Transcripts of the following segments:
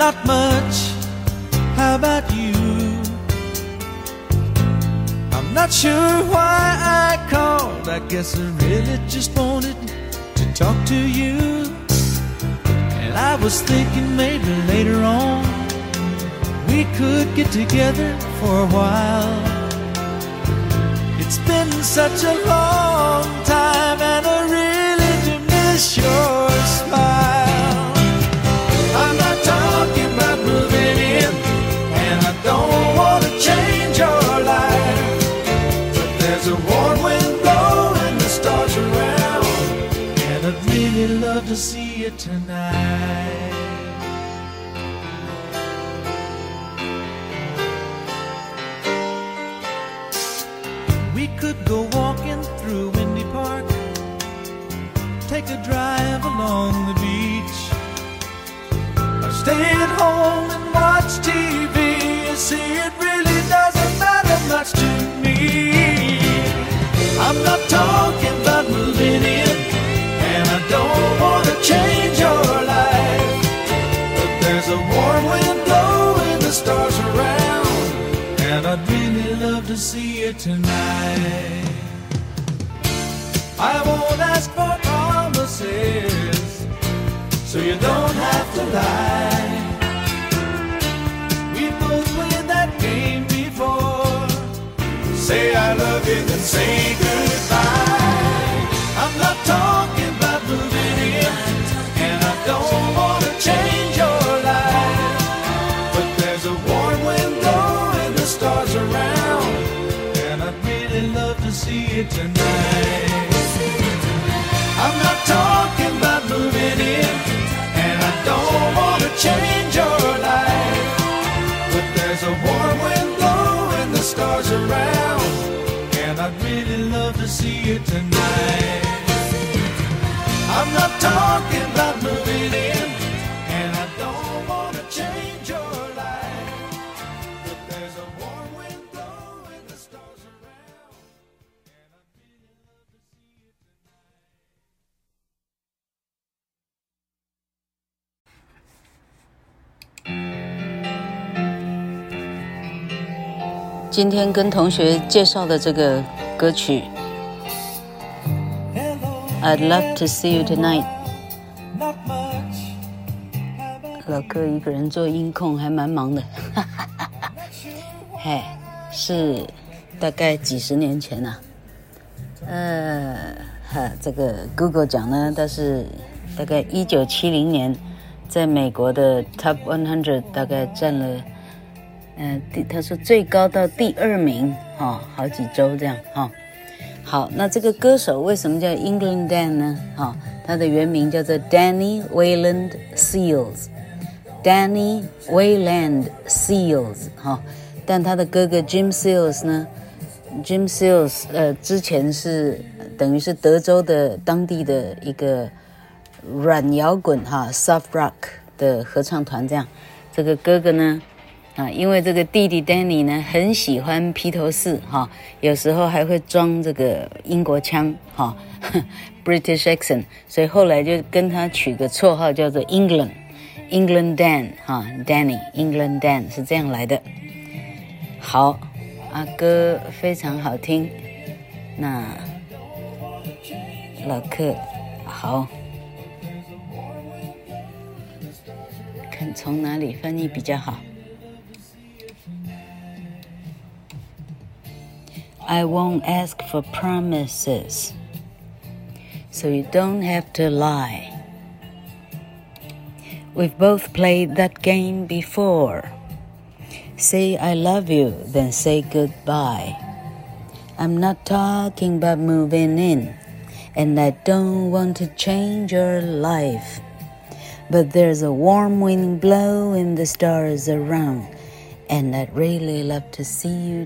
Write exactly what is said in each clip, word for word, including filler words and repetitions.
not much. How about you? I'm not sure why I called. I guess I really just wanted to talk to you. And I was thinking maybe later on we could get together for a while. It's been such a long time and I really do miss your smile. I'm not talking about moving in, and I don't want to change your life, but there's a warm wind blowing the stars around, and I'd really love to see you tonight. We could go walking through Windy Park, take a drive along the beach, or stay at home and watch T V. You see, it really doesn't matter much to me. I'm not talking about moving in, and I don't want to change your life, but there's a warm wind blowing the stars around, and I'd really love to see you tonight. I won't ask for promises, so you don't have to lie. We both played that game before. Say I love you, then say goodbye. I'm not talking about moving in, and I don't want to change your life, but there's a warm wind blowing the stars around, and I'd really love to see you tonight. I'm not talking about moving in, and I don't want to change your life, but there's a warm wind blowing the stars around, and I'd really love to see you tonight. I'm not talking about moving in, and I don't want to change your life, but there's a warm wind blowing the stars around, and I'd really love to see you tonight. 今天跟同学介紹的這個歌曲 I'd love to see you tonight， 老哥一個人做音控還蠻忙的嘿，是大概幾十年前啊，呃，哈，這個 Google 講呢，但是大概一九七零年在美國的 Top 一百大概佔了呃，他說最高到第二名，哈、哦，好幾周這樣，哈、哦。好，那這個歌手為什麼叫 England Dan 呢？哈、哦，他的原名叫做 Danny Wayland Seals，Danny Wayland Seals， 哈、哦。但他的哥哥 Jim Seals 呢 ，Jim Seals， 呃，之前是等於是德州的當地的一個軟搖滾哈 ，soft rock 的合唱團這樣。這個哥哥呢？啊，因為這個弟弟 Danny 呢很喜歡披頭士哈，有時候還會裝這個英國腔哈 ，British accent， 所以後來就跟他取個綽號叫做 England England Dan 哈 ，Danny England Dan 是這樣來的。好，啊歌非常好聽，那老客好，看從哪裡翻譯比較好。I won't ask for promises, so you don't have to lie. We've both played that game before. Say I love you, then say goodbye. I'm not talking about moving in, and I don't want to change your life. But there's a warm wind blowing the stars around, and I'd really love to see you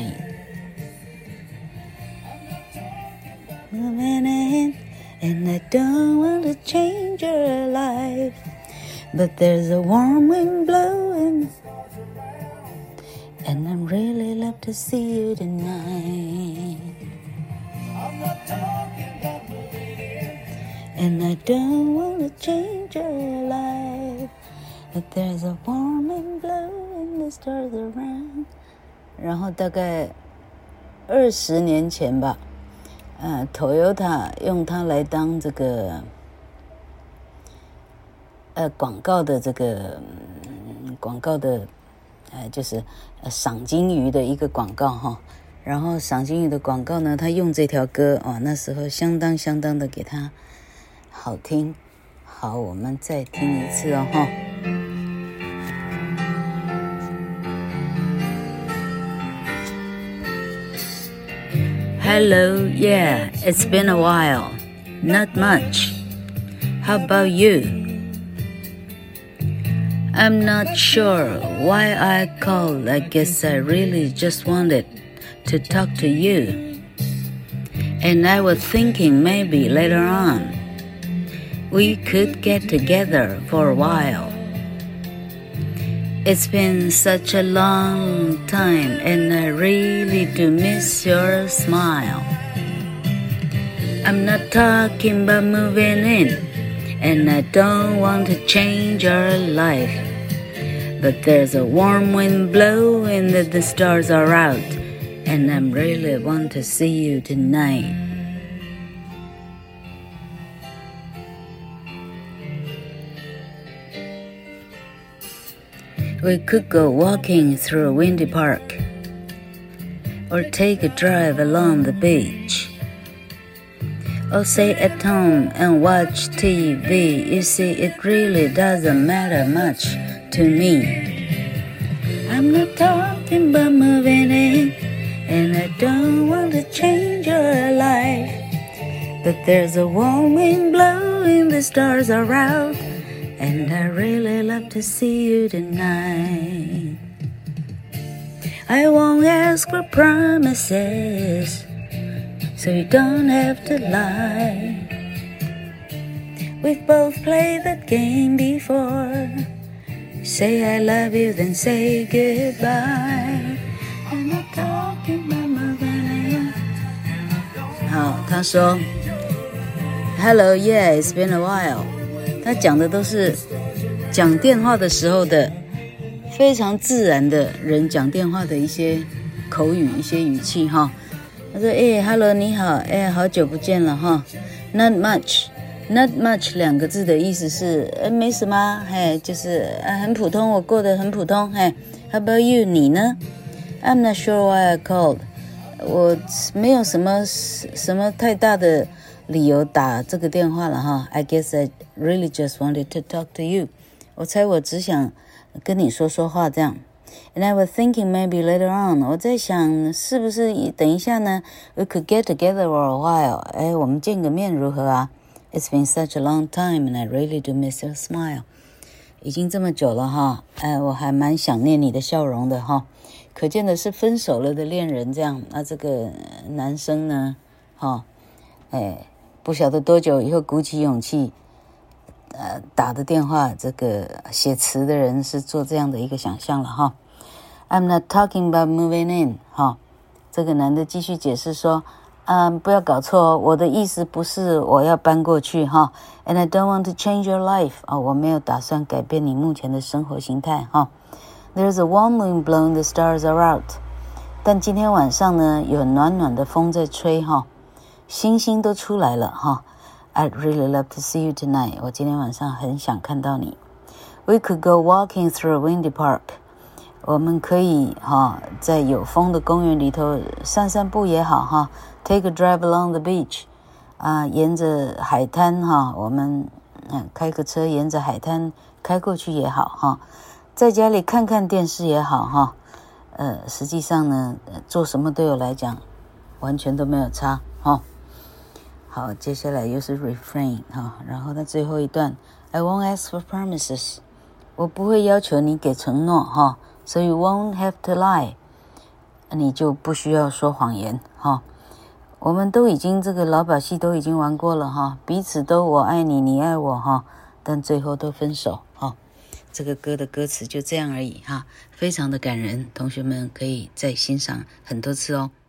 tonight.Moving in, and I don't want to change your life, but there's a warm wind blowing, and I really love to see you tonight. I'm not talking about moving in, and I don't want to change your life, But there's a warm wind blowing the stars around. 然後大概二十年前吧，呃 Toyota 用它來當這個呃廣告的這個、嗯、廣告的呃就是呃賞金魚的一個廣告哈。然後賞金魚的廣告呢，他用這條歌哦，那時候相當相當的給他好聽。好，我們再聽一次哦哈。Hello, yeah, it's been a while. Not much. How about you? I'm not sure why I called. I guess I really just wanted to talk to you. And I was thinking maybe later on we could get together for a while. It's been such a long time and I really do miss your smile. I'm not talking about moving in and I don't want to change your life. But there's a warm wind blowing that the stars are out and I really want to see you tonight. We could go walking through a windy park or take a drive along the beach or stay at home and watch T V. You see, it really doesn't matter much to me. I'm not talking about moving in and I don't want to change your life. But there's a warm wind blowing, the stars are out and I really love to see you tonight. I won't ask for promises, so you don't have to lie. We've both played that game before. Say I love you, then say goodbye. I'm not talking about my life. 好，他說 Hello, yeah, it's been a while. 他講的都是講電話的時候的非常自然的人講電話的一些口語、一些語氣哈。他說：“哎 ，Hello， 你好，哎，好久不見了哈。Not much，Not much 兩個字的意思是，呃，沒什麼，嘿，就是啊，很普通，我過得很普通，嘿。How about you？ 你呢 ？I'm not sure why I called， 我沒有什麼什麼太大的理由打這個電話了哈。I guess I really just wanted to talk to you， 我猜我只想跟你說說話這樣。And I was thinking maybe later on， 我在想是不是等一下呢 ，we could get together for a while， 哎，我們見個面如何啊 ？It's been such a long time and I really do miss your smile， 已經這麼久了哈，哎，我還蠻想念你的笑容的哈。可見的是分手了的戀人這樣，那這個男生呢，哈，哎，不曉得多久以後鼓起勇氣。呃，打的電話，這個寫詞的人是做這樣的一個想象了哈。I'm not talking about moving in， 哈，這個男的繼續解釋說，嗯，不要搞錯，我的意思不是我要搬過去哈。And I don't want to change your life， 啊，我沒有打算改變你目前的生活形態哈。There's a warm wind blowing, the stars are out， 但今天晚上呢，有暖暖的風在吹哈，星星都出來了哈。I'd really love to see you tonight. 我今天晚上很想看到你。We could go walking through a windy park. 我們可以哈，在有風的公園裡頭散散步也好哈。Take a drive along the beach. 啊，沿着海灘哈，我們嗯開個車沿着海灘開過去也好哈。在家裡看看電視也好哈。呃，實際上呢，做什麼對我來講完全都沒有差哈。好，接下來又是 refrain 哈，然後它最後一段 I won't ask for promises， 我不會要求你給承諾哈，所以 you won't have to lie， 你就不需要說謊言哈。我們都已經這個老把戲都已經玩過了哈，彼此都我愛你，你愛我哈，但最後都分手哈。這個歌的歌詞就這樣而已哈，非常的感人，同學們可以再欣賞很多次哦。